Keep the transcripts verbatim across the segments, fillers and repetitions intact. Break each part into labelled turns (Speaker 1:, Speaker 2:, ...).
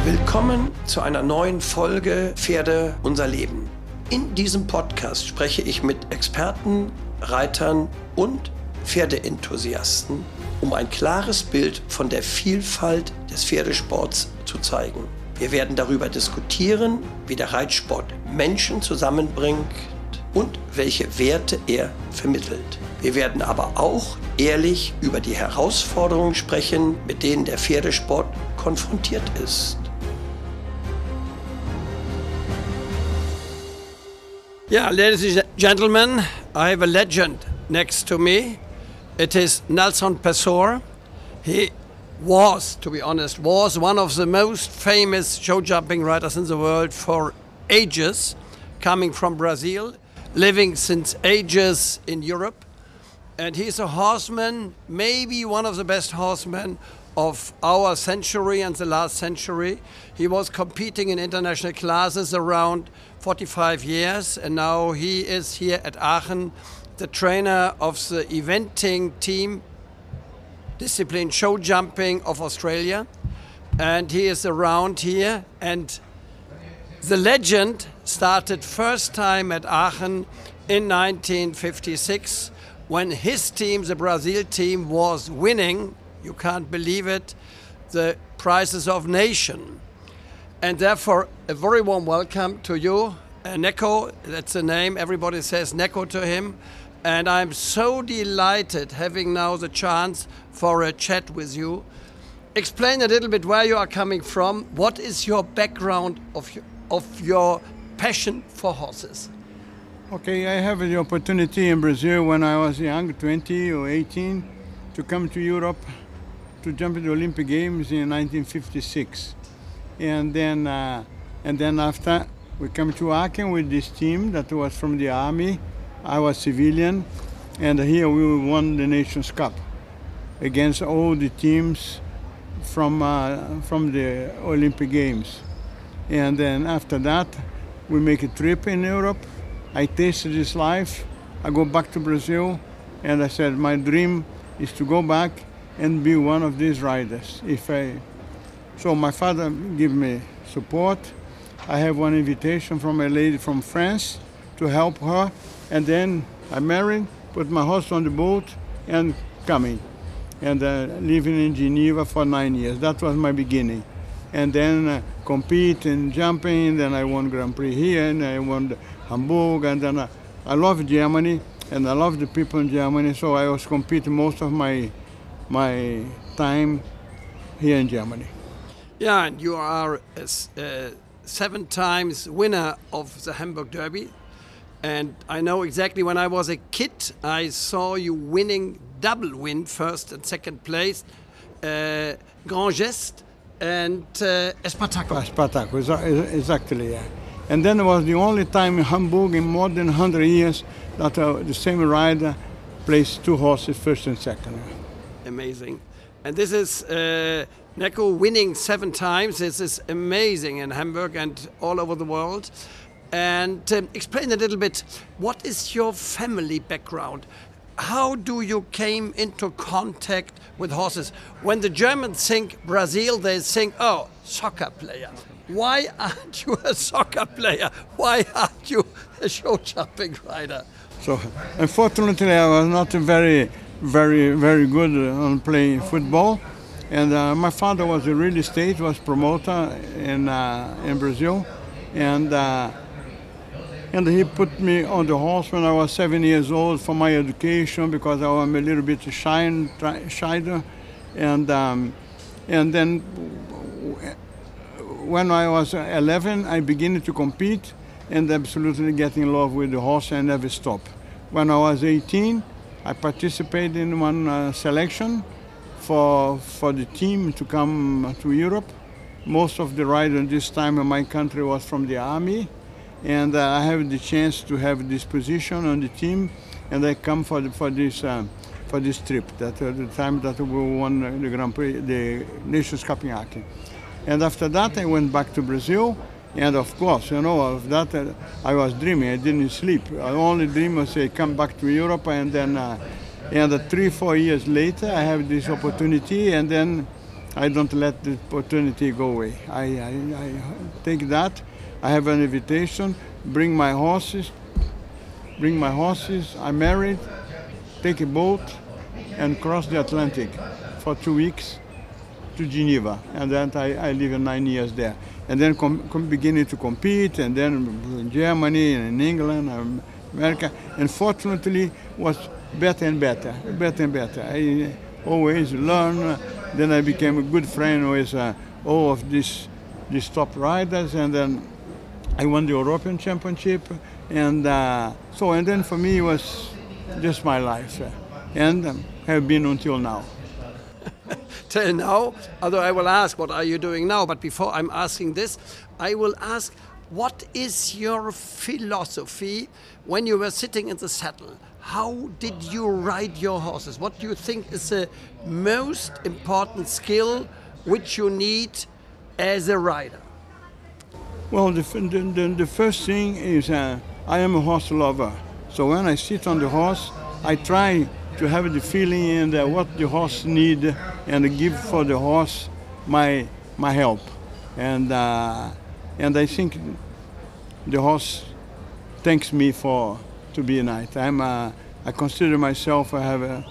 Speaker 1: Willkommen zu einer neuen Folge Pferde unser Leben. In diesem Podcast spreche ich mit Experten, Reitern und Pferdeenthusiasten, um ein klares Bild von der Vielfalt des Pferdesports zu zeigen. Wir werden darüber diskutieren, wie der Reitsport Menschen zusammenbringt und welche Werte er vermittelt. Wir werden aber auch ehrlich über die Herausforderungen sprechen, mit denen der Pferdesport konfrontiert ist. Yeah, ladies and gentlemen, I have a legend next to me. It is Nelson Pessoa. He was, to be honest, was one of the most famous show jumping riders in the world for ages, coming from Brazil, living since ages in Europe. And he's a horseman, maybe one of the best horsemen of our century and the last century. He was competing in international classes around forty-five years, and now he is here at Aachen, the trainer of the eventing team, discipline show jumping of Australia. And he is around here, and the legend started first time at Aachen in nineteen fifty-six when his team, the Brazil team, was winning, you can't believe it, the Prizes of Nation. And therefore, a very warm welcome to you, uh, Neko. That's the name. Everybody says Neko to him. And I'm so delighted having now the chance for a chat with you. Explain a little bit where you are coming from. What is your background of your, of your passion for horses?
Speaker 2: Okay, I have the opportunity in Brazil when I was young, twenty or eighteen, to come to Europe to jump in the Olympic Games in nineteen fifty-six. And then, uh, and then after, we come to Aachen with this team that was from the army. I was civilian, and here we won the Nations Cup against all the teams from uh, from the Olympic Games. And then after that, we make a trip in Europe. I tasted this life. I go back to Brazil, and I said my dream is to go back and be one of these riders. If I, so my father gave me support. I have one invitation from a lady from France to help her, and then I married, put my horse on the boat, and coming, and uh, living in Geneva for nine years. That was my beginning, and then uh, compete in jumping. Then I won Grand Prix here, and I won Hamburg, and then uh, I love Germany, and I love the people in Germany. So I was competing most of my my time here in Germany.
Speaker 1: Yeah, and you are a uh, seven times winner of the Hamburg Derby. And I know exactly when I was a kid, I saw you winning double win, first and second place, uh, Grand Geste and uh, Espartaco.
Speaker 2: Espartaco, exactly, yeah. And then it was the only time in Hamburg in more than one hundred years that uh, the same rider placed two horses, first and second.
Speaker 1: Amazing. And this is uh, Neko winning seven times. This is amazing in Hamburg and all over the world. And um, explain a little bit, what is your family background? How do you came into contact with horses? When the Germans think Brazil, they think, oh, soccer player. Why aren't you a soccer player? Why aren't you a show jumping rider?
Speaker 2: So, unfortunately, I was not very, very, very good on playing football. And uh, my father was a real estate, was promoter in uh, in Brazil, and. Uh, And he put me on the horse when I was seven years old for my education because I was a little bit shy, shy. And, um, and then when I was eleven, I began to compete and absolutely get in love with the horse and never stop. When I was eighteen, I participated in one uh, selection for, for the team to come to Europe. Most of the riders this time in my country was from the army. And uh, I have the chance to have this position on the team, and I come for the, for this uh, for this trip. That uh, the time that we won the Grand Prix, the Nations Cup in Aachen. And after that, I went back to Brazil, and of course, you know, of that uh, I was dreaming. I didn't sleep. I only dream was I come back to Europe, and then uh, and uh, three four years later, I have this opportunity, and then I don't let the opportunity go away. I, I, I take that. I have an invitation, bring my horses, bring my horses, I'm married, take a boat and cross the Atlantic for two weeks to Geneva. And then I, I live nine years there. And then com, com beginning to compete, and then in Germany and in England, and America. And fortunately, was better and better, better and better. I always learn. Then I became a good friend with uh, all of these, these top riders, and then I won the European Championship. And uh, so, and then for me, it was just my life. Uh, and um, have been until now.
Speaker 1: Till now, although I will ask, what are you doing now? But before I'm asking this, I will ask, what is your philosophy when you were sitting in the saddle? How did you ride your horses? What do you think is the most important skill which you need as a rider?
Speaker 2: Well, the, the, the first thing is uh, I am a horse lover. So when I sit on the horse, I try to have the feeling and uh, what the horse need, and give for the horse my my help. And uh, and I think the horse thanks me for to be a knight. I'm a, I consider myself I have a,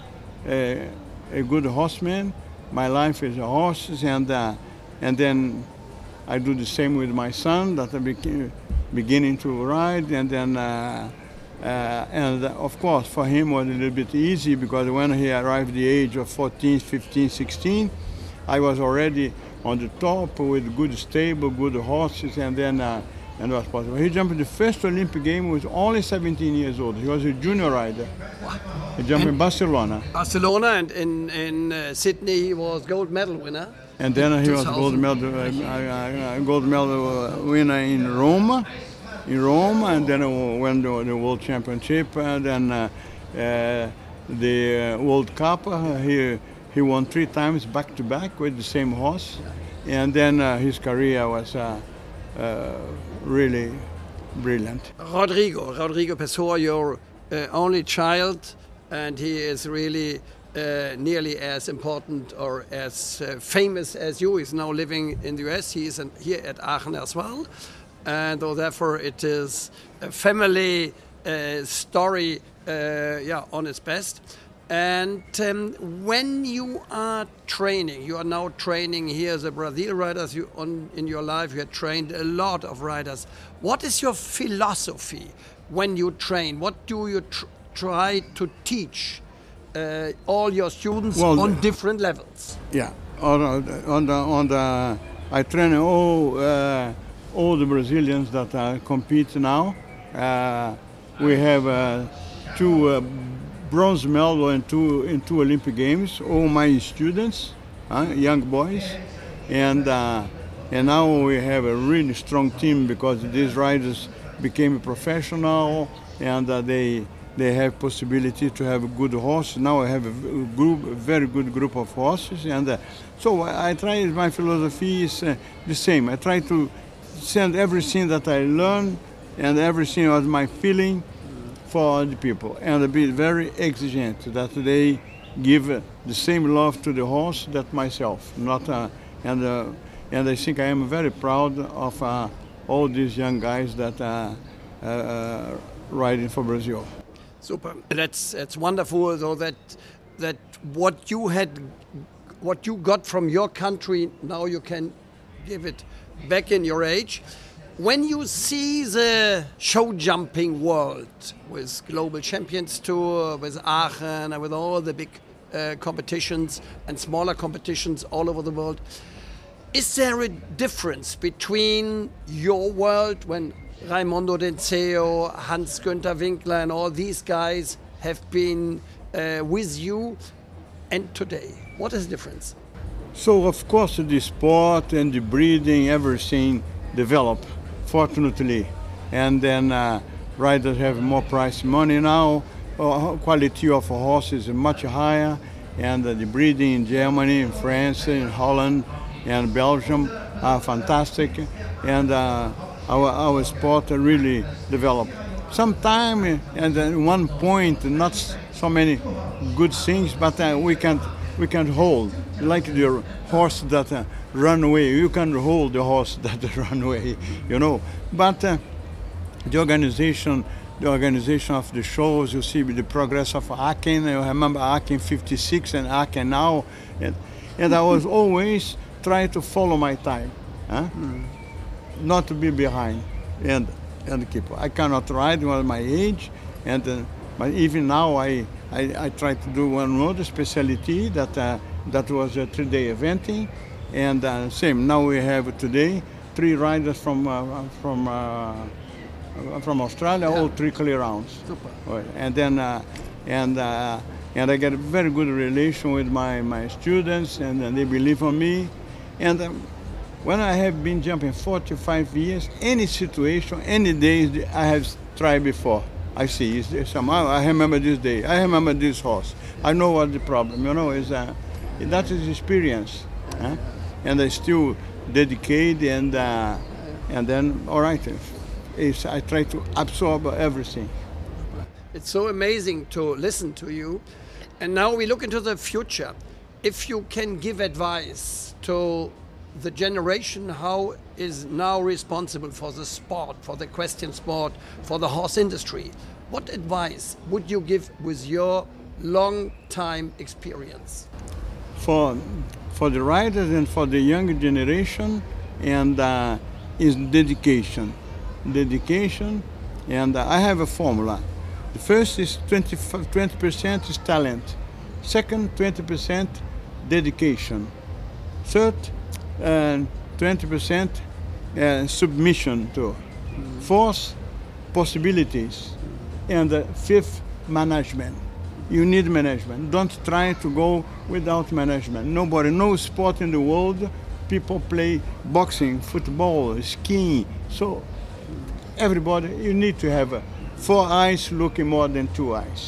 Speaker 2: a a good horseman. My life is a horse, and uh, and then I do the same with my son that I became beginning to ride, and then. Uh, Uh, and uh, of course, for him was a little bit easy because when he arrived at the age of fourteen, fifteen, sixteen, I was already on the top with good stable, good horses, and then uh, and was possible. He jumped the first Olympic game was only seventeen years old. He was a junior rider.
Speaker 1: What?
Speaker 2: He jumped
Speaker 1: and
Speaker 2: in Barcelona.
Speaker 1: Barcelona, and in in uh, Sydney he was gold medal winner.
Speaker 2: And then he
Speaker 1: two
Speaker 2: was
Speaker 1: thousand.
Speaker 2: gold medal uh, uh, uh, gold medal winner in Rome. In Rome, and then uh, won the, the World Championship, and then uh, uh, the uh, World Cup. Uh, he he won three times back to back with the same horse, and then uh, his career was uh, uh, really brilliant.
Speaker 1: Rodrigo, Rodrigo Pessoa, your uh, only child, and he is really uh, nearly as important or as uh, famous as you. He's now living in the U S. He is an, here at Aachen as well. And so therefore it is a family uh, story, uh, yeah, on its best. And um, when you are training, you are now training here as a Brazil riders. You on in your life you have trained a lot of riders. What is your philosophy when you train? What do you tr try to teach uh, all your students
Speaker 2: well,
Speaker 1: on different levels?
Speaker 2: Yeah, on, on the on the I train all. Uh, all the Brazilians that uh, compete now. Uh, we have uh, two uh, bronze medals in two, in two Olympic Games, all my students, uh, young boys. And, uh, and now we have a really strong team because these riders became professional, and uh, they, they have possibility to have a good horse. Now I have a group, a very good group of horses. And uh, so I try, my philosophy is uh, the same. I try to send everything that I learn and everything was my feeling for the people, and be very exigent that they give the same love to the horse that myself. Not uh, and uh, and I think I am very proud of uh, all these young guys that are uh, uh, riding for Brazil.
Speaker 1: Super. That's that's wonderful. Though that that what you had, what you got from your country, now you can give it back in your age. When you see the show jumping world with Global Champions Tour, with Aachen, and with all the big uh, competitions and smaller competitions all over the world, is there a difference between your world when Raimondo Denzeo, Hans-Günther Winkler and all these guys have been uh, with you and today? What is the difference?
Speaker 2: So of course the sport and the breeding, everything developed, fortunately. And then uh, riders have more prize money now. Uh, quality of horses is much higher. And uh, the breeding in Germany, in France, in Holland and Belgium are fantastic. And uh, our, our sport really developed. Sometime and at one point, not so many good things, but uh, we can't, we can't hold. like the horse that uh, run away. You can hold the horse that run away, you know. But uh, the organization, the organization of the shows, you see the progress of Aachen. I remember Aachen fifty-six and Aachen now, and, and I was always trying to follow my time, huh? Mm. Not to be behind, and and keep. I cannot ride with my age, and uh, but even now I, I I try to do one more specialty that uh, that was a three-day eventing, and uh, same now we have today three riders from uh, from. Uh, from Australia, yeah. All three clear rounds.
Speaker 1: Super.
Speaker 2: And then, uh, and uh, and I get a very good relation with my, my students, and, and they believe on me. And um, when I have been jumping forty-five years, any situation, any days I have tried before, I see. It's, somehow I remember this day. I remember this horse. I know what the problem. You know, is uh, that is experience, huh? And I still dedicate, and uh, and then all right. Is I try to absorb everything.
Speaker 1: It's so amazing to listen to you. And now we look into the future. If you can give advice to the generation how is now responsible for the sport, for the equestrian sport, for the horse industry, what advice would you give with your long time experience?
Speaker 2: For, for the riders and for the younger generation, and uh, is dedication. Dedication, and uh, I have a formula. The first is twenty percent is talent. Second, twenty percent dedication. Third, uh, twenty percent uh, submission to. Fourth, possibilities. And uh, fifth, management. You need management. Don't try to go without management. Nobody, no sport in the world, people play boxing, football, skiing. So everybody, you need to have uh, four eyes looking more than two eyes.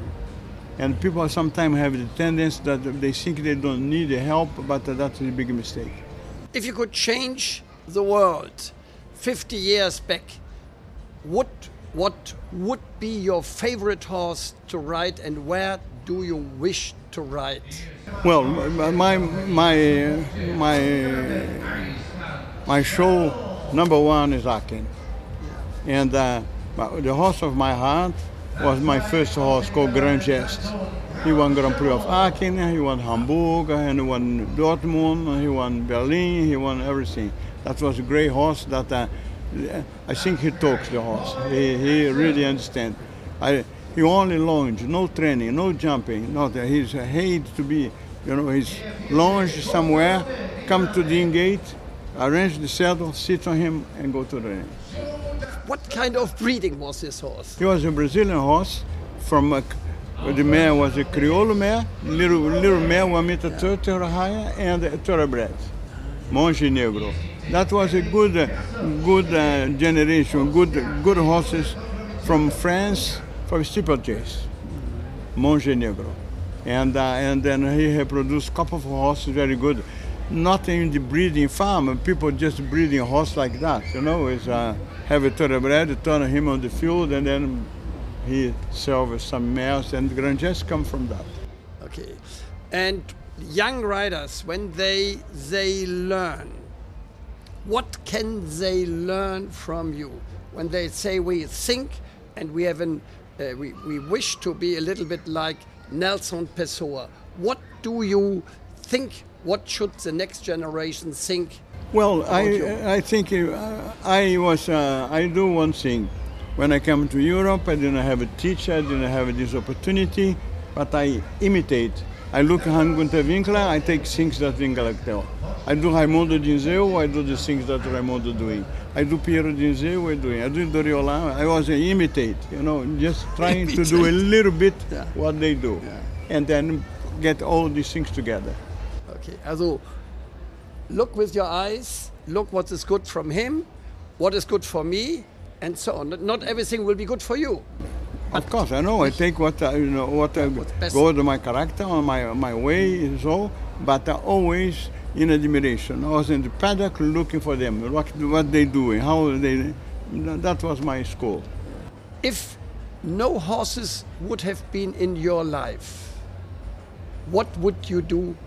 Speaker 2: And people sometimes have the tendency that they think they don't need the help, but uh, that's a big mistake.
Speaker 1: If you could change the world fifty years back, what, what would be your favorite horse to ride, and where do you wish to ride?
Speaker 2: Well, my, my, my, my show number one is Aachen. And uh, the horse of my heart was my first horse called Grand Geste. He won Grand Prix of Aachen, he won Hamburg, and he won Dortmund, he won Berlin, he won everything. That was a great horse that uh, I think he talks the horse. He, he really understands. I, he only lunge, no training, no jumping, nothing. He's hate to be, you know, he's lunge somewhere, come to the in-gate, arrange the saddle, sit on him, and go to the ring.
Speaker 1: What kind of breeding was this horse?
Speaker 2: He was a Brazilian horse. From a, the mare was a Criollo mare, little little mare, one meter thirty or higher, and a thoroughbred, Monge Negro. That was a good, uh, good uh, generation, good, good horses from France for steeplechase, Monge Negro, and uh, and then he had produced a couple of horses very good. Not in the breeding farm, people just breeding a horse like that, you know, is uh, have a thoroughbred, turn him on the field, and then he sells some mares, and Grand Geste come from that.
Speaker 1: Okay, and young riders, when they they learn, what can they learn from you? When they say we think and we have an, uh, we we wish to be a little bit like Nelson Pessoa, what do you think? What should the next generation think?
Speaker 2: Well, I, I think uh, I was, uh, I do one thing. When I come to Europe, I didn't have a teacher, I didn't have this opportunity, but I imitate. I look at Hans-Günther Winkler, I take things that Winkler tell. I do Raimundo Dinzeu, I do the things that Raimundo doing. I do Piero Dinzeu, I do. I do Doriola, I was an imitate, you know, just trying to do a little bit yeah. what they do. Yeah. And then get all these things together.
Speaker 1: Okay, also look with your eyes, look what is good from him, what is good for me, and so on. Not everything will be good for you.
Speaker 2: Of course, I know. I take what uh, you know, what uh, goes to my character, on my my way, and so. But uh, always in admiration. I was in the paddock looking for them, what what they doing, how they. That was my school.
Speaker 1: If no horses would have been in your life, what would you do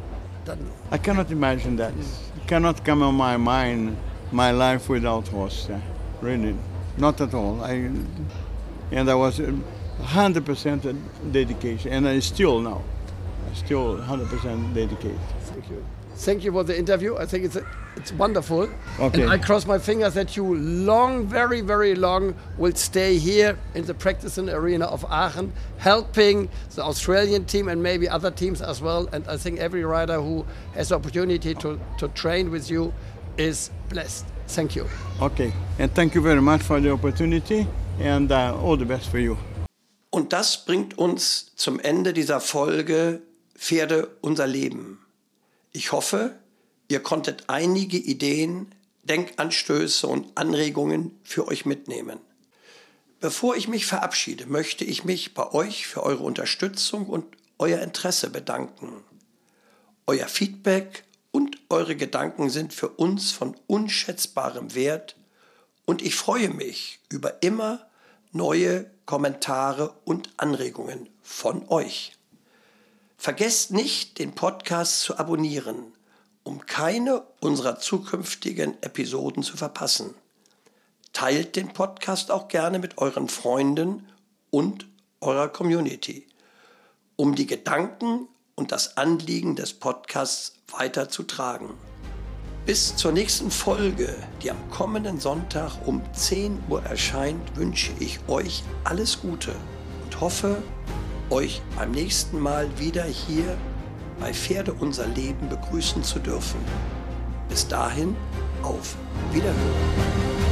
Speaker 1: dann...
Speaker 2: I cannot imagine that. It cannot come on my mind, my life without horse. Yeah. Really, not at all. I, and I was one hundred percent dedication, and I still now, I still one hundred percent dedicated.
Speaker 1: Thank you. Thank you for the interview. I think it's a, it's wonderful.
Speaker 2: Okay.
Speaker 1: And I cross my fingers that you long, very, very long will stay here in the practicing arena of Aachen, helping the Australian team and maybe other teams as well. And I think every rider who has the opportunity to, to train with you is blessed. Thank you.
Speaker 2: Okay. And thank you very much for the opportunity and uh, all the best for you.
Speaker 1: Und das bringt uns zum Ende dieser Folge Pferde unser Leben. Ich hoffe, ihr konntet einige Ideen, Denkanstöße und Anregungen für euch mitnehmen. Bevor ich mich verabschiede, möchte ich mich bei euch für eure Unterstützung und euer Interesse bedanken. Euer Feedback und eure Gedanken sind für uns von unschätzbarem Wert und ich freue mich über immer neue Kommentare und Anregungen von euch. Vergesst nicht, den Podcast zu abonnieren, um keine unserer zukünftigen Episoden zu verpassen. Teilt den Podcast auch gerne mit euren Freunden und eurer Community, um die Gedanken und das Anliegen des Podcasts weiterzutragen. Bis zur nächsten Folge, die am kommenden Sonntag um zehn Uhr erscheint, wünsche ich euch alles Gute und hoffe, euch beim nächsten Mal wieder hier bei Pferde unser Leben begrüßen zu dürfen. Bis dahin, auf Wiederhören.